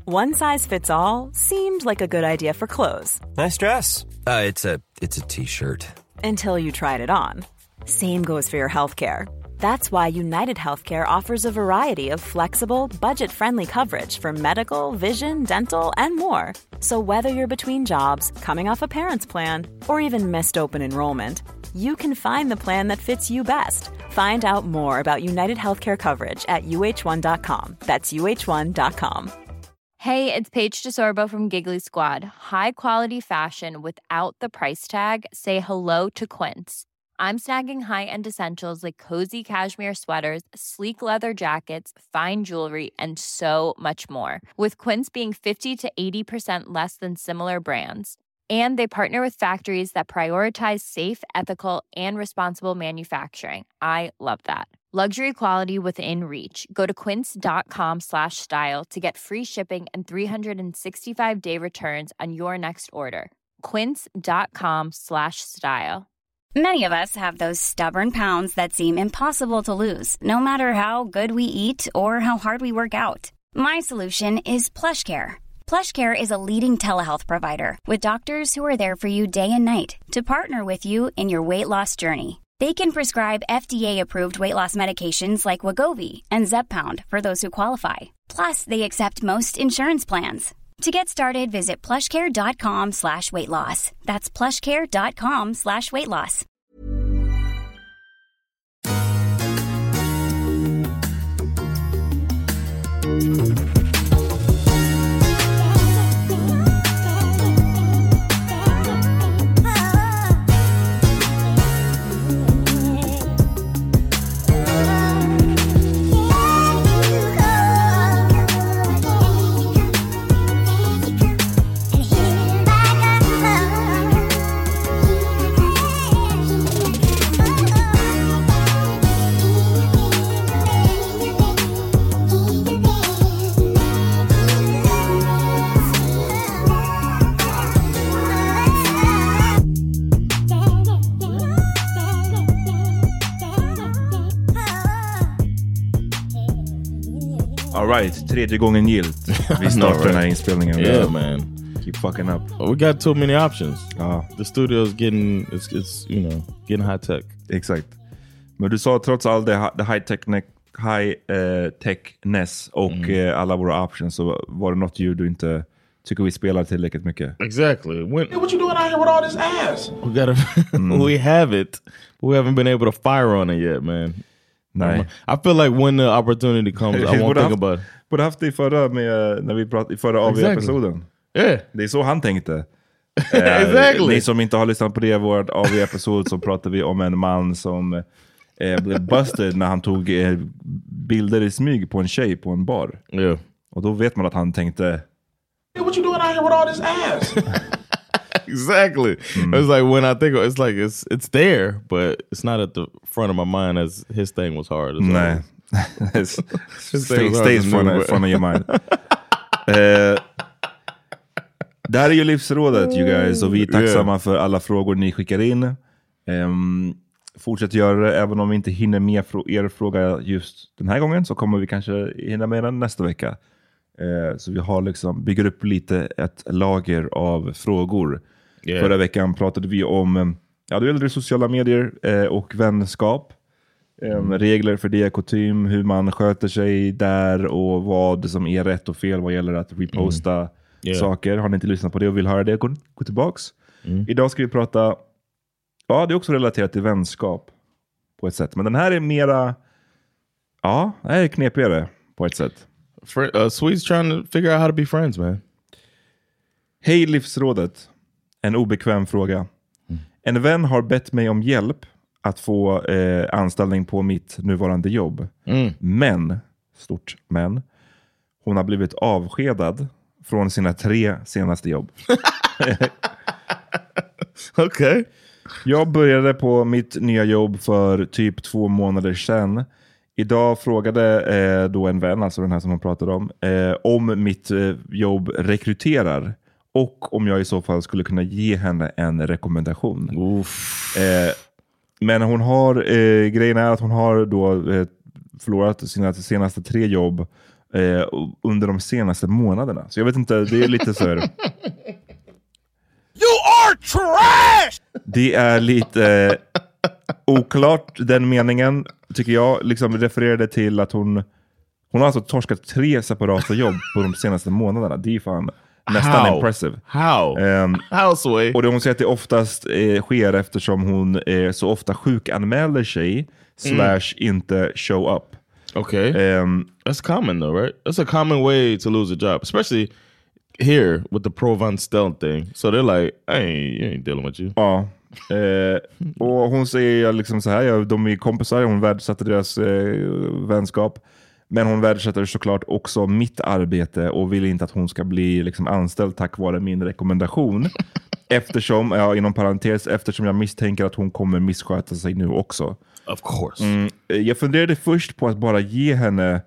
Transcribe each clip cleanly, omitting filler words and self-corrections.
One size fits all seemed like a good idea for clothes. Nice dress. It's a t-shirt. Until you tried it on. Same goes for your healthcare. That's why United Healthcare offers a variety of flexible, budget-friendly coverage for medical, vision, dental, and more. So whether you're between jobs, coming off a parent's plan, or even missed open enrollment, you can find the plan that fits you best. Find out more about United Healthcare coverage at uh1.com. That's uh1.com. Hey, it's Paige DeSorbo from Giggly Squad. High quality fashion without the price tag. Say hello to Quince. I'm snagging high-end essentials like cozy cashmere sweaters, sleek leather jackets, fine jewelry, and so much more. With Quince being 50 to 80% less than similar brands. And they partner with factories that prioritize safe, ethical, and responsible manufacturing. I love that. Luxury quality within reach. Go to quince.com/style to get free shipping and 365-day returns on your next order. Quince.com/style. Many of us have those stubborn pounds that seem impossible to lose, no matter how good we eat or how hard we work out. My solution is PlushCare. PlushCare is a leading telehealth provider with doctors who are there for you day and night to partner with you in your weight loss journey. They can prescribe FDA-approved weight loss medications like Wegovy and Zepbound for those who qualify. Plus, they accept most insurance plans. To get started, visit plushcare.com/weightloss. That's plushcare.com/weightloss. Alright, tredje gången gilt. Vi startar den här inspelningen. Yeah, man. Keep fucking up. We got too many options. The studio's getting, it's getting high tech. Exakt. Men du sa trots all det high-techness och alla våra options, så var det något ljud du inte tycker vi spelar tillräckligt mycket. Exactly. Hey, what you doing out here with all this ass? We have it, but we haven't been able to fire on it yet, man. Nej. I feel like when the opportunity comes, I won't think about it. Borde haft det i förra, när vi pratade i förra AV-episoden. Yeah. Det är så han tänkte. Exactly. Ni som inte har lyssnat på det, vår AV-episod, så pratade vi om en man som blev busted när han tog bilder i smyg på en tjej på en bar. Yeah. Och då vet man att han tänkte, Hey, what you doing out here with all this ass? Exactly. It's like when I think it's like it's there, but it's not at the front of my mind as his thing was hard. Nej. Stays front of your mind. Det här är ju livsrådet, you guys, och vi är tacksamma för alla frågor ni skickar in. Fortsätt göra det, även om vi inte hinner med er fråga just den här gången, så kommer vi kanske hinna med den nästa vecka. Så vi har liksom, bygger upp lite ett lager av frågor. Förra veckan pratade vi om det gäller sociala medier och vänskap. Regler för det, kutym, hur man sköter sig där och vad som är rätt och fel vad gäller att reposta saker. Har ni inte lyssnat på det och vill höra det, gå tillbaks. Idag ska vi prata, det är också relaterat till vänskap på ett sätt. Men den här är mera, det här är knepigare på ett sätt. Swedes trying to figure out how to be friends, man. Hej livsrådet. En obekväm fråga. En vän har bett mig om hjälp att få anställning på mitt nuvarande jobb. Men, stort men, hon har blivit avskedad från sina 3 senaste jobb. Okej. Jag började på mitt nya jobb för typ 2 månader sedan. Idag frågade då en vän, alltså den här som man pratade om mitt jobb rekryterar. Och om jag i så fall skulle kunna ge henne en rekommendation. Men hon har, grejen är att hon har då förlorat sina senaste 3 jobb under de senaste månaderna. Så jag vet inte, det är lite så här... You are trash! Det är lite oklart, den meningen, tycker jag. Liksom refererade till att hon har alltså torskat 3 separata jobb på de senaste månaderna. Det är fan nästan impressive. How Sway? Och hon säger att det oftast sker eftersom hon så ofta sjukanmäler sig / inte show up. Okay. That's common though, right? That's a common way to lose a job, especially here with the Provenstell thing. So they're like, you ain't dealing with you. Ja. Och hon säger liksom så här, de är kompisar, hon värdesätter deras vänskap. Men hon värdesätter såklart också mitt arbete och vill inte att hon ska bli liksom anställd tack vare min rekommendation. Eftersom, inom parentes, eftersom jag misstänker att hon kommer missköta sig nu också. Of course. Jag funderade först på att bara ge henne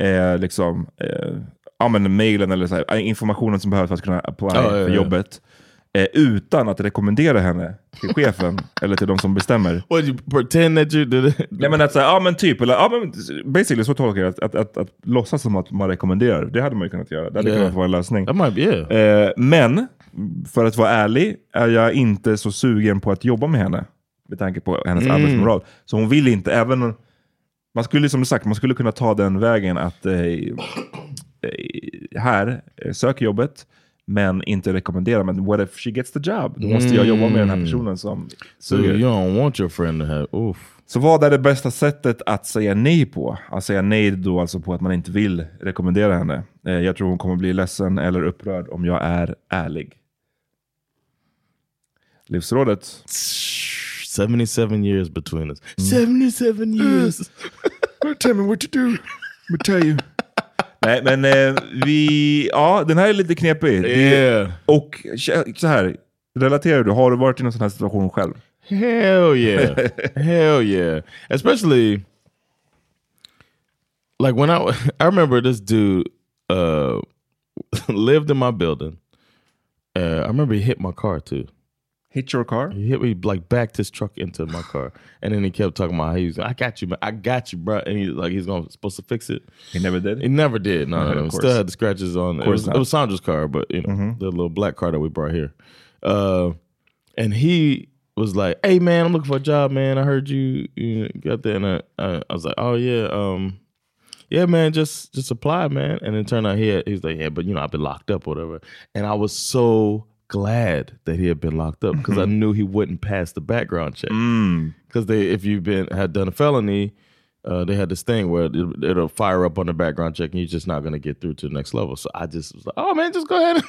mailen eller så här, informationen som behövs för att kunna apply för jobbet. Utan att rekommendera henne till chefen eller till de som bestämmer. What, you pretend that you did it? Nej, men att säga, men typ, eller basically så tolkar jag att låtsas som att man rekommenderar. Det hade man ju kunnat göra. Det hade kunnat vara en lösning. That might be, men för att vara ärlig är jag inte så sugen på att jobba med henne med tanke på hennes arbetsmoral. Så hon vill inte, även man skulle, som sagt, man skulle kunna ta den vägen att här sök jobbet men inte rekommendera. Men what if she gets the job? Då måste jag jobba med den här personen som suger. So you don't want your friend to have... Så vad är det bästa sättet att säga nej på? Att säga nej då alltså på att man inte vill rekommendera henne. Jag tror hon kommer bli ledsen eller upprörd om jag är ärlig. Livsrådet. 77 years between us. 77 years! Tell me what to do. I'll tell you. Nej, men den här är lite knepig. Yeah. Och så här, relaterar du? Har du varit i någon sån här situation själv? Hell yeah. Hell yeah. Especially like when I remember this dude lived in my building. I remember he hit my car too. Hit your car? He hit me, like backed his truck into my car. And then he kept talking about how he was, I got you, man. I got you, bro. And he's supposed to fix it. He never did? He never did. No. Still had the scratches on. It was Sandra's car, but you know, the little black car that we brought here. And he was like, hey man, I'm looking for a job, man. I heard you got that. And I was like, oh yeah, yeah, man, just apply, man. And it turned out he's like, yeah, but you know, I've been locked up or whatever. And I was so glad that he had been locked up because I knew he wouldn't pass the background check. Because if you've had done a felony, they had this thing where it'll fire up on the background check and you're just not going to get through to the next level. So I just was like, oh man, just go ahead.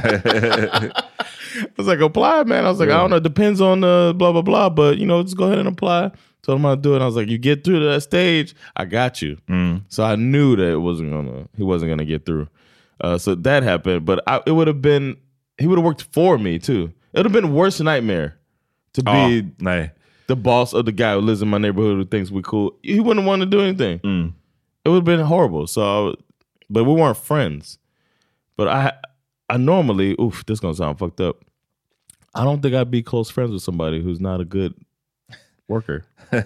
I was like, apply, man. I was like, I don't know, it depends on the blah, blah, blah, but you know, just go ahead and apply. So I'm going to do it. And I was like, you get through to that stage, I got you. So I knew that he wasn't going to get through. So that happened, but it would have been, he would have worked for me too. It would have been a worse nightmare to be the boss of the guy who lives in my neighborhood who thinks we're cool. He wouldn't want to do anything. It would have been horrible. So, but we weren't friends. But I normally, this is going to sound fucked up. I don't think I'd be close friends with somebody who's not a good worker.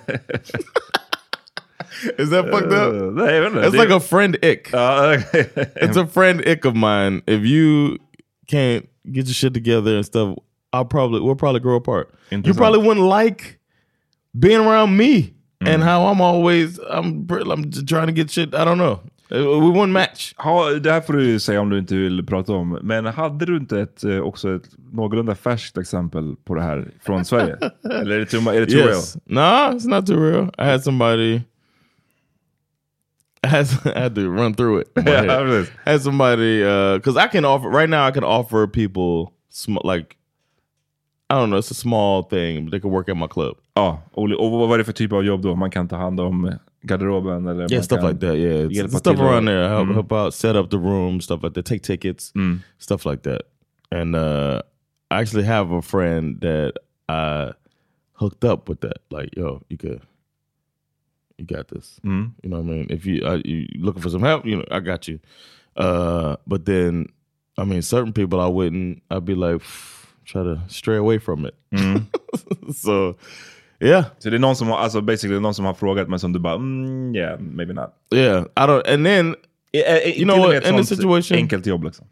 Is that fucked up? It's like a friend ick. It's a friend ick of mine. If you can't get your shit together and stuff, we'll probably grow apart. You probably wouldn't like being around me and how I'm trying to get shit. I don't know. We wouldn't match. Det här får du säga om du inte vill prata om. Men hade du inte också ett någorlunda färskt exempel på det här från Sverige? Eller är det too real? No, it's not too real. I had somebody. I had to run through it. I had somebody because I can offer people like, I don't know, it's a small thing, but they can work at my club. Ja, och vad är det för typ av jobb då? Man kan ta hand om garderoben eller stuff like that. Yeah, it's stuff around there. Help out, set up the room, stuff like that. Take tickets, stuff like that. And I actually have a friend that I hooked up with that. Like, yo, you got this. You know what I mean? If you looking for some help, you know, I got you. But then, I mean, certain people I'd be like, try to stray away from it. So, yeah. Så det är någon som har, alltså basically någon som har frågat men som du bara, yeah, maybe not. Yeah, I don't. And then You know what? In this situation, enkelt jobb liksom.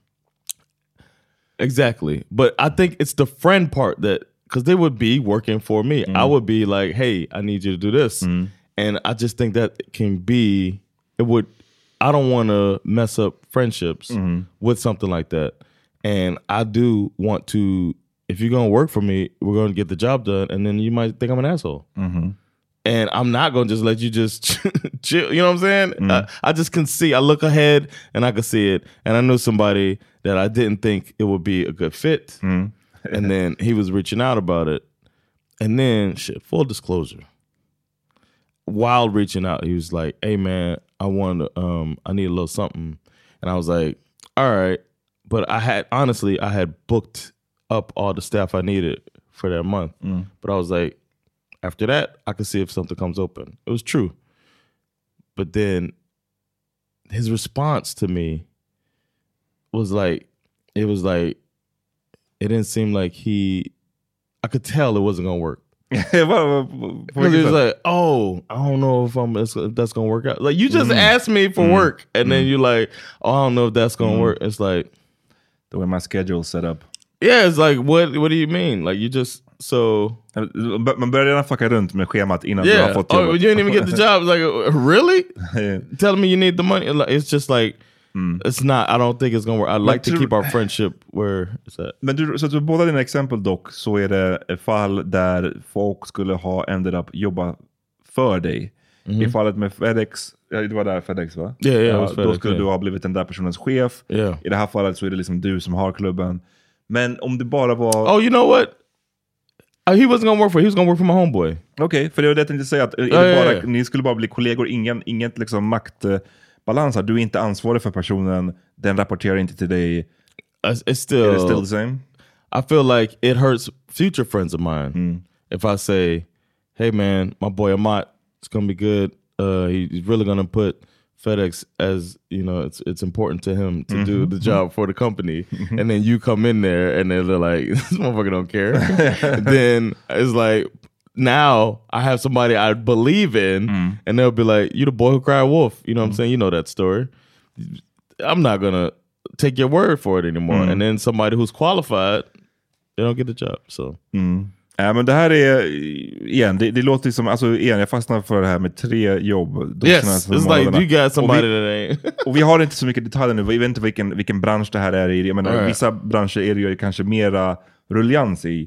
Exactly. But I think it's the friend part that, because they would be working for me. I would be like, hey, I need you to do this. And I just think that can be, I don't want to mess up friendships with something like that. And I do want to, if you're going to work for me, we're going to get the job done. And then you might think I'm an asshole. And I'm not going to just let you just chill. You know what I'm saying? I just can see, I look ahead and I can see it. And I knew somebody that I didn't think it would be a good fit. And then he was reaching out about it. And then, full disclosure, while reaching out, he was like, hey man, I need a little something. And I was like, all right. But I had booked up all the staff I needed for that month. But I was like, after that, I could see if something comes open. It was true. But then his response to me was like, it didn't seem like I could tell it wasn't going to work. Because he was like, oh, I don't know if that's going to work out. Like, you just asked me for work. And then you're like, oh, I don't know if that's going to work. It's like, the way my schedule set up. Yeah, it's like, what do you mean? Like, you just, so... Man börjar redan fucka runt med schemat innan du har fått jobbet. Oh, you didn't even get the job. Like, really? Tell me you need the money. It's just like, it's not, I don't think it's gonna work. I'd like to keep our friendship where it's at. Men så båda dina exempel dock, så är det fall där folk skulle ha ended up jobba för dig. I fallet med FedEx, det var där FedEx va? Yeah, då skulle du ha blivit den där personens chef. I det här fallet så är det liksom du som har klubben. Men om det bara var... Oh, you know what? He wasn't gonna work for. He was gonna work for my homeboy. Okej, för det var det jag tänkte säga. Att ni skulle bara bli kollegor. Inget liksom maktbalans. Du är inte ansvarig för personen. Den rapporterar inte till dig. It's still the same? I feel like it hurts future friends of mine. If I say, hey man, my boy Amat, it's gonna be good. He's really gonna put FedEx as, you know, it's important to him to do the job for the company. And then you come in there and they're like, this motherfucker don't care. Then it's like, now I have somebody I believe in and they'll be like, you the boy who cried wolf. You know what I'm saying? You know that story. I'm not going to take your word for it anymore. And then somebody who's qualified, they don't get the job. So... Ja, men det här är igen, det låter som, alltså igen, jag fastnar för det här med 3 jobb. Yes, it's like you got somebody that ain't. Och vi har inte så mycket detaljer nu, vi vet inte vilken bransch det här är i. Jag menar, vissa branscher är det ju kanske mera rullians i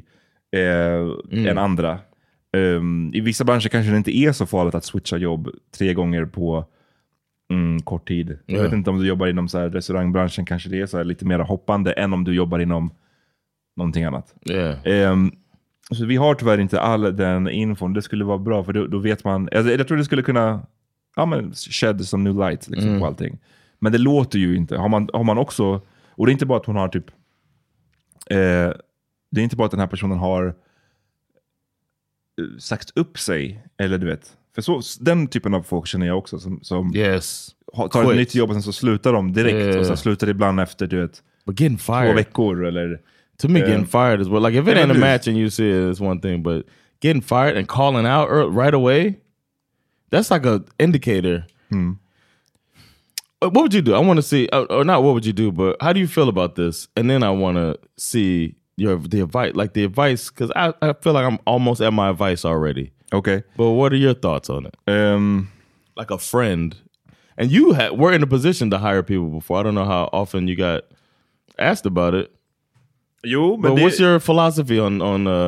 än andra. I vissa branscher kanske det inte är så farligt att switcha jobb 3 gånger på kort tid. Jag vet inte om du jobbar inom så här restaurangbranschen, kanske det är så här lite mer hoppande än om du jobbar inom någonting annat. Så vi har tyvärr inte all den infon. Det skulle vara bra, för då vet man... Alltså, jag tror det skulle kunna shed some new light liksom, på allting. Men det låter ju inte. Har man också... Och det är inte bara att hon har typ... det är inte bara att den här personen har sagt upp sig. Eller du vet. För så, den typen av folk känner jag också. Som tar ett nytt jobb och sen så slutar de direkt. Och sen slutar det ibland efter, du vet, 2 veckor eller... To me, getting fired is what, like, if it ain't a match and you see it, it's one thing, but getting fired and calling out right away, that's like a indicator. What would you do? I want to see, or not what would you do, but how do you feel about this? And then I want to see the advice, because I feel like I'm almost at my advice already. Okay. But what are your thoughts on it? Like a friend. And you were in a position to hire people before. I don't know how often you got asked about it. But what's your philosophy on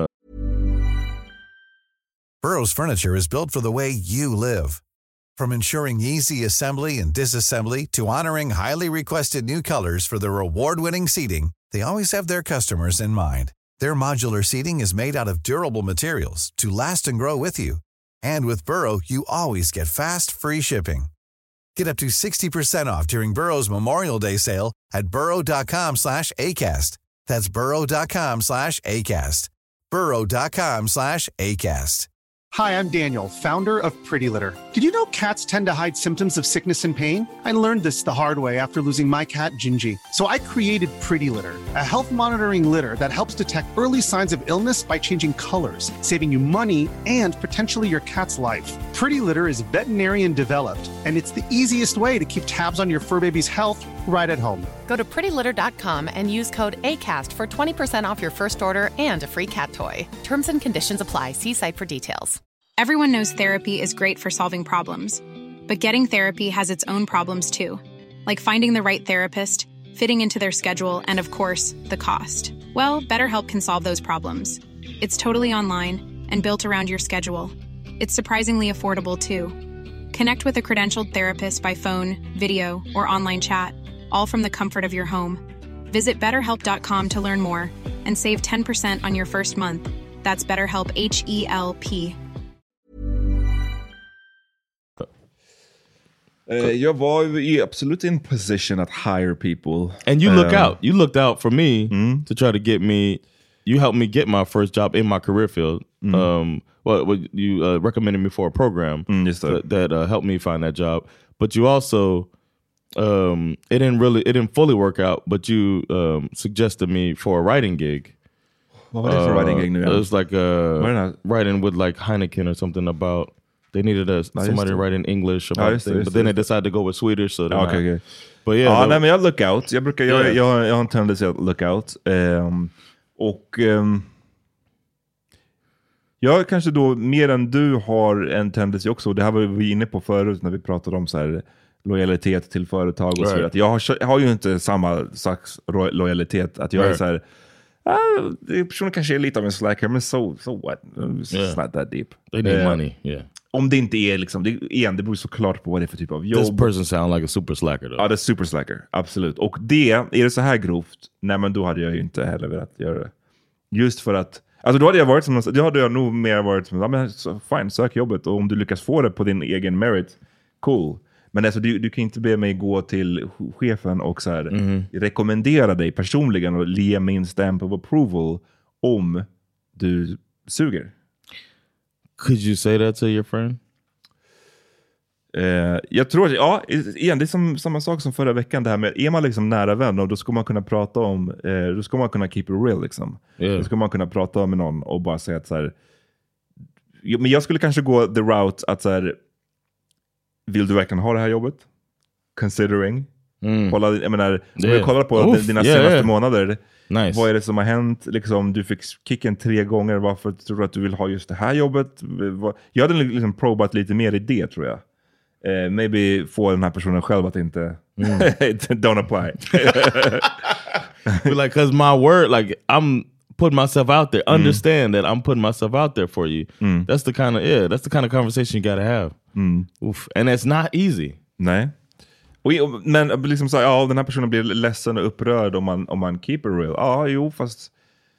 Burrow's furniture is built for the way you live. From ensuring easy assembly and disassembly to honoring highly requested new colors for their award-winning seating, they always have their customers in mind. Their modular seating is made out of durable materials to last and grow with you. And with Burrow, you always get fast, free shipping. Get up to 60% off during Burrow's Memorial Day sale at burrow.com/ACAST. That's burrow.com/ACAST. burrow.com/ACAST. Hi, I'm Daniel, founder of Pretty Litter. Did you know cats tend to hide symptoms of sickness and pain? I learned this the hard way after losing my cat, Gingy. So I created Pretty Litter, a health monitoring litter that helps detect early signs of illness by changing colors, saving you money and potentially your cat's life. Pretty Litter is veterinarian developed, and it's the easiest way to keep tabs on your fur baby's health right at home. Go to prettylitter.com and use code ACAST for 20% off your first order and a free cat toy. Terms and conditions apply. See site for details. Everyone knows therapy is great for solving problems, but getting therapy has its own problems too, like finding the right therapist, fitting into their schedule, and of course, the cost. Well, BetterHelp can solve those problems. It's totally online and built around your schedule. It's surprisingly affordable too. Connect with a credentialed therapist by phone, video, or online chat, all from the comfort of your home. Visit BetterHelp.com to learn more and save 10% on your first month. That's BetterHelp, H-E-L-P. Jag var ju absolut in position att hire people. And you look out. You looked out for me to try to get me. You helped me get my first job in my career field. You recommended me for a program that helped me find that job. But you also, it didn't fully work out. But you suggested me for a writing gig. What was it for a writing gig? It was like writing with like Heineken or something about. They needed somebody to write in English about things, but then they decided to go with Swedish. So okay. But yeah, nej, men jag look out. Jag har en tendens att look out. Jag kanske då mer än du har en tendens också. Det här var vi inne på förut när vi pratade om så här lojalitet till företag och så vidare. Jag har ju inte samma slags lojalitet att jag är så här. Personen kanske är lite av en slacker, men so what? It's not that deep. They need money, yeah. Om det inte är liksom, det beror såklart på vad det är för typ av jobb. This person sound like a super slacker though. Ja, det är super slacker, absolut. Och är det så här grovt, nej men då hade jag ju inte heller velat göra det. Just för att, alltså då hade jag nog mer varit som, ja men fine, sök jobbet. Och om du lyckas få det på din egen merit, cool. Men alltså du kan inte be mig gå till chefen och så här rekommendera dig personligen och ge min stamp of approval om du suger. Could you say that to your friend? Jag tror att, igen, det är samma sak som förra veckan. Det här med, är man liksom nära vän och då ska man kunna prata om, då ska man kunna keep it real liksom. Då ska man kunna prata med någon och bara säga att så här, men jag skulle kanske gå the route att så här, vill du verkligen ha det här jobbet? Considering. Kolla, jag menar, jag kollar på dina senaste månader. Nice. Vad är det som har hänt? Liksom, du fick kicken 3 gånger. Varför tror du att du vill ha just det här jobbet? Jag hade liksom probat lite mer i det, tror jag. Maybe få den här personen själv att inte don't apply. Like, cause my word, like I'm putting myself out there. Understand that I'm putting myself out there for you. That's the kind of conversation you gotta have. Oof. And it's not easy. Nej. Men liksom så, den här personen blir ledsen och upprörd om man keep it real. Fast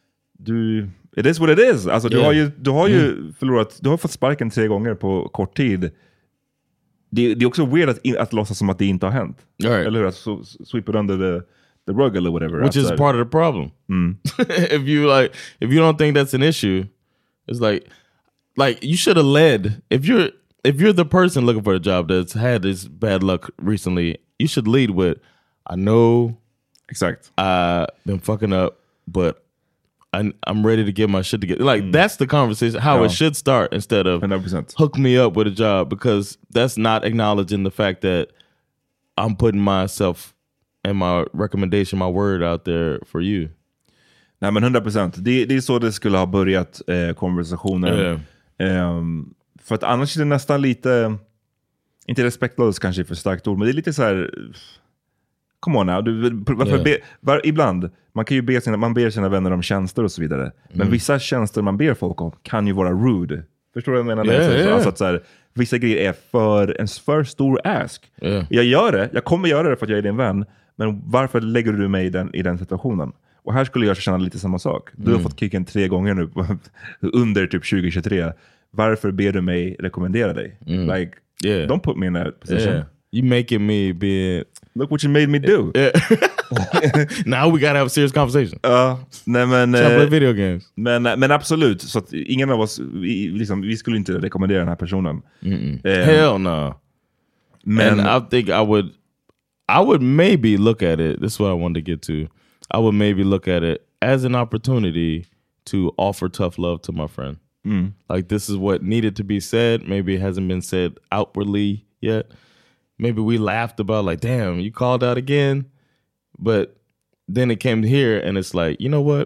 it is what it is. Alltså du har ju förlorat, du har fått sparken 3 gånger på kort tid. Det är också weird att låtsas som att det inte har hänt. Right. Eller hur? Att sweep it under the rug or whatever. Which is part of the problem. If you don't think that's an issue, it's like you should have led. If you're the person looking for a job that's had this bad luck recently, you should lead with, I know I've been fucking up, but I'm ready to get my shit together. Like, that's the conversation, how it should start, instead of 100%. Hook me up with a job, because that's not acknowledging the fact that I'm putting myself and my recommendation, my word out there for you. Nej, men 100%. Det är så det skulle ha börjat konversationen. För att annars är det nästan lite, inte respektlöst kanske för starkt ord, men det är lite så här, come on now, ibland, man kan ju ber sina vänner om tjänster och så vidare, men vissa tjänster man ber folk om kan ju vara rude. Förstår du vad jag menar? Alltså att så här, vissa grejer är för stor ask. Jag kommer göra det för att jag är din vän, men varför lägger du mig i den situationen? Och här skulle jag känna lite samma sak. Du har fått kicken 3 gånger nu under typ 2023. Varför ber du mig rekommendera dig? Like, don't put me in that position. You making me be Look what you made me do. Now we gotta have a serious conversation. Nej men... play video games. Men absolut, så att ingen av oss, vi skulle inte rekommendera den här personen. Hell no. Men I think I would maybe look at it, this is what I wanted to get to. I would maybe look at it as an opportunity to offer tough love to my friend. Like this is what needed to be said. Maybe it hasn't been said outwardly yet. Maybe we laughed about like, damn, you called out again. But then it came here and it's like, you know what?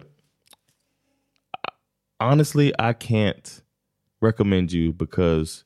Honestly, I can't recommend you because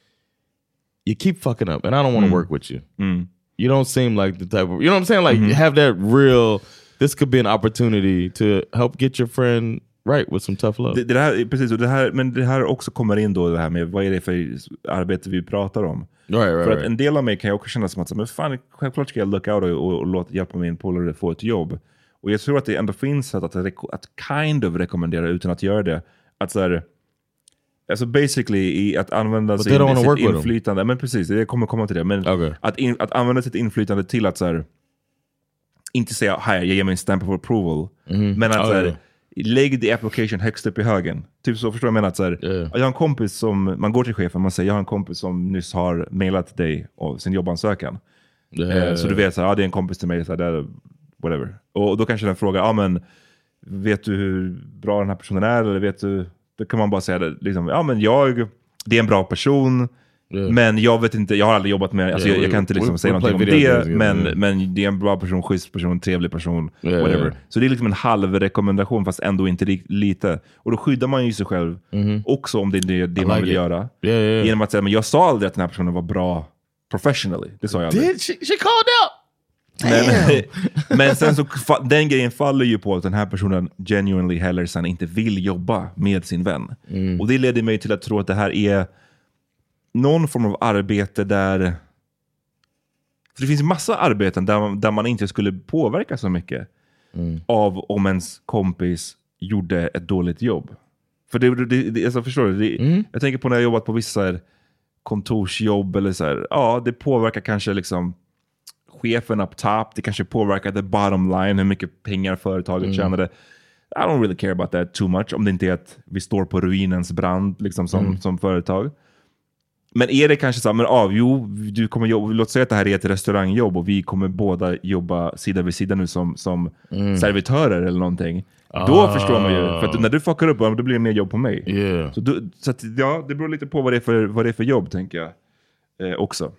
you keep fucking up and I don't want to work with you. You don't seem like the type of, you know what I'm saying? Like you have that real, this could be an opportunity to help get your friend right with some tough love. Det här, precis, och det här också kommer in då det här med vad är det för arbete vi pratar om. Right. För att en del av mig kan jag också känna som att men fan, självklart ska jag look out och låta hjälpa min polare få ett jobb. Och jag tror att det ändå finns sätt att kind of rekommendera utan att göra det. Att så här, alltså basically att använda sitt inflytande. Men precis, det kommer komma till det. Men att använda sitt inflytande till att så här, inte säga här, jag ger mig en stamp of approval. Men att så här, lägg the application högst upp i högen. Typ så, förstår jag menar att så här, jag har en kompis som, man går till chefen, man säger jag har en kompis som nyss har mailat dig och sin jobbansökan. Så du vet så här, det är en kompis till mig så här, där, whatever. Och då kanske den frågar, men vet du hur bra den här personen är eller vet du, då kan man bara säga det liksom, men det är en bra person. Men jag vet inte, jag har aldrig jobbat med, alltså jag kan inte liksom säga någonting om det, men det är en bra person, schysst person, trevlig person, whatever. Så det är liksom en halv rekommendation fast ändå inte lite. Och då skyddar man ju sig själv också om det är det man vill göra. Genom att säga, men jag sa aldrig att den här personen var bra professionally. Det sa jag aldrig. She called out! Men sen så den grejen faller ju på att den här personen genuinely heller sen inte vill jobba med sin vän. Och det leder mig till att tro att det här är någon form av arbete där, för det finns massa arbeten där man inte skulle påverka så mycket av om ens kompis gjorde ett dåligt jobb. För det alltså, förstår du? Jag tänker på när jag jobbat på vissa kontorsjobb eller så här, det påverkar kanske liksom chefen up top, det kanske påverkar the bottom line, hur mycket pengar företaget tjänade. I don't really care about that too much, om det inte är att vi står på ruinens brand liksom som företag. Men är det kanske så här, du kommer jobba, låt säga att det här är ett restaurangjobb och vi kommer båda jobba sida vid sida nu som servitörer eller någonting. Då förstår man ju, för att när du fuckar upp, då blir det mer jobb på mig. Så att, det beror lite på vad det är för jobb, tänker jag också.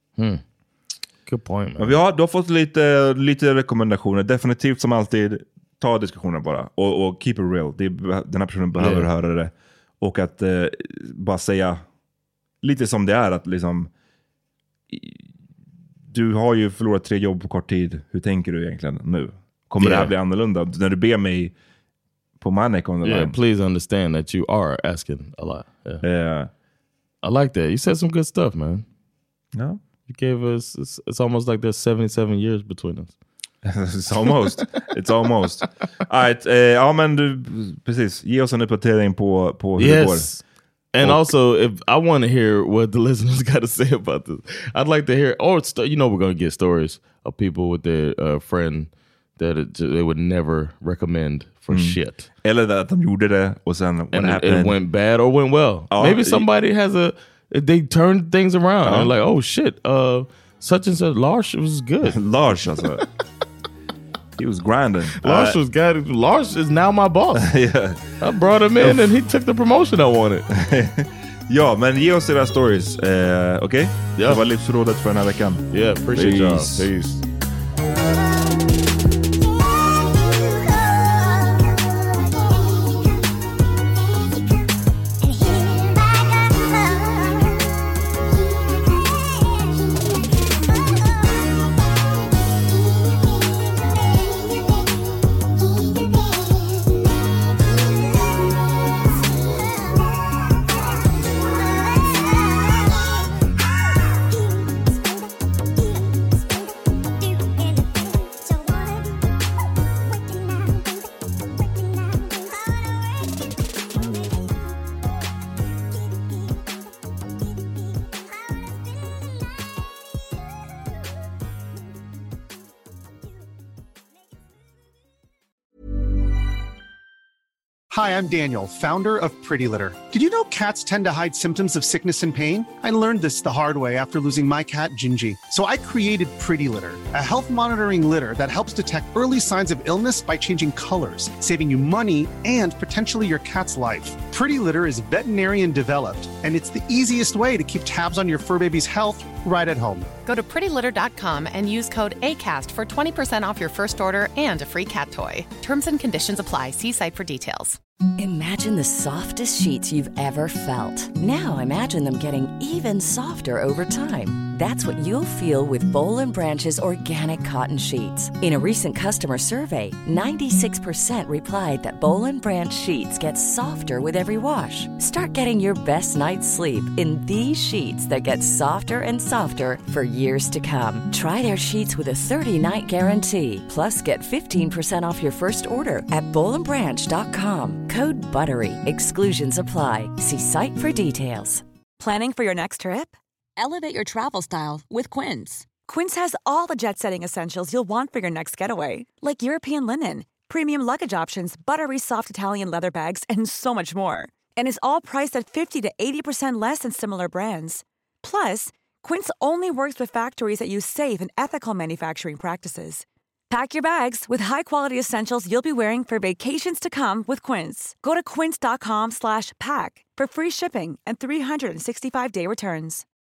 Good point, man. Men du har fått lite rekommendationer. Definitivt som alltid, ta diskussionen bara och keep it real. Den här personen behöver höra det. Och att bara säga lite som det är, att liksom du har ju förlorat 3 jobb på kort tid. Hur tänker du egentligen nu? Kommer det här bli annorlunda? När du ber mig på my neck on the line. Please understand that you are asking a lot. I like that. You said some good stuff, man. No? You gave us, it's almost like there's 77 years between us. It's almost. All right, men du, precis. Ge oss en uppdatering på hur det går. And also, if I want to hear what the listeners got to say about this, I'd like to hear, we're going to get stories of people with their friend that they would never recommend for shit. Eller att de gjorde det och sen it went bad or went well. Maybe somebody they turned things around and like, oh shit, such and such, Lars was good. Lars, alltså. He was grinding. Lars was good. Lars is now my boss. I brought him in and he took the promotion I wanted. Men ge oss era stories. Okej? Det var livsrådet för den här veckan. Appreciate y'all. Peace. Hi, I'm Daniel, founder of Pretty Litter. Did you know cats tend to hide symptoms of sickness and pain? I learned this the hard way after losing my cat, Gingy. So I created Pretty Litter, a health monitoring litter that helps detect early signs of illness by changing colors, saving you money and potentially your cat's life. Pretty Litter is veterinarian developed, and it's the easiest way to keep tabs on your fur baby's health right at home. Go to prettylitter.com and use code ACAST for 20% off your first order and a free cat toy. Terms and conditions apply. See site for details. Imagine the softest sheets you've ever felt. Now imagine them getting even softer over time. That's what you'll feel with Boll & Branch's organic cotton sheets. In a recent customer survey, 96% replied that Boll & Branch sheets get softer with every wash. Start getting your best night's sleep in these sheets that get softer and softer for years to come. Try their sheets with a 30-night guarantee. Plus, get 15% off your first order at bollandbranch.com. Code BUTTERY. Exclusions apply. See site for details. Planning for your next trip? Elevate your travel style with Quince. Quince has all the jet-setting essentials you'll want for your next getaway, like European linen, premium luggage options, buttery soft Italian leather bags, and so much more. And is all priced at 50 to 80% less than similar brands. Plus, Quince only works with factories that use safe and ethical manufacturing practices. Pack your bags with high-quality essentials you'll be wearing for vacations to come with Quince. Go to quince.com/pack for free shipping and 365-day returns.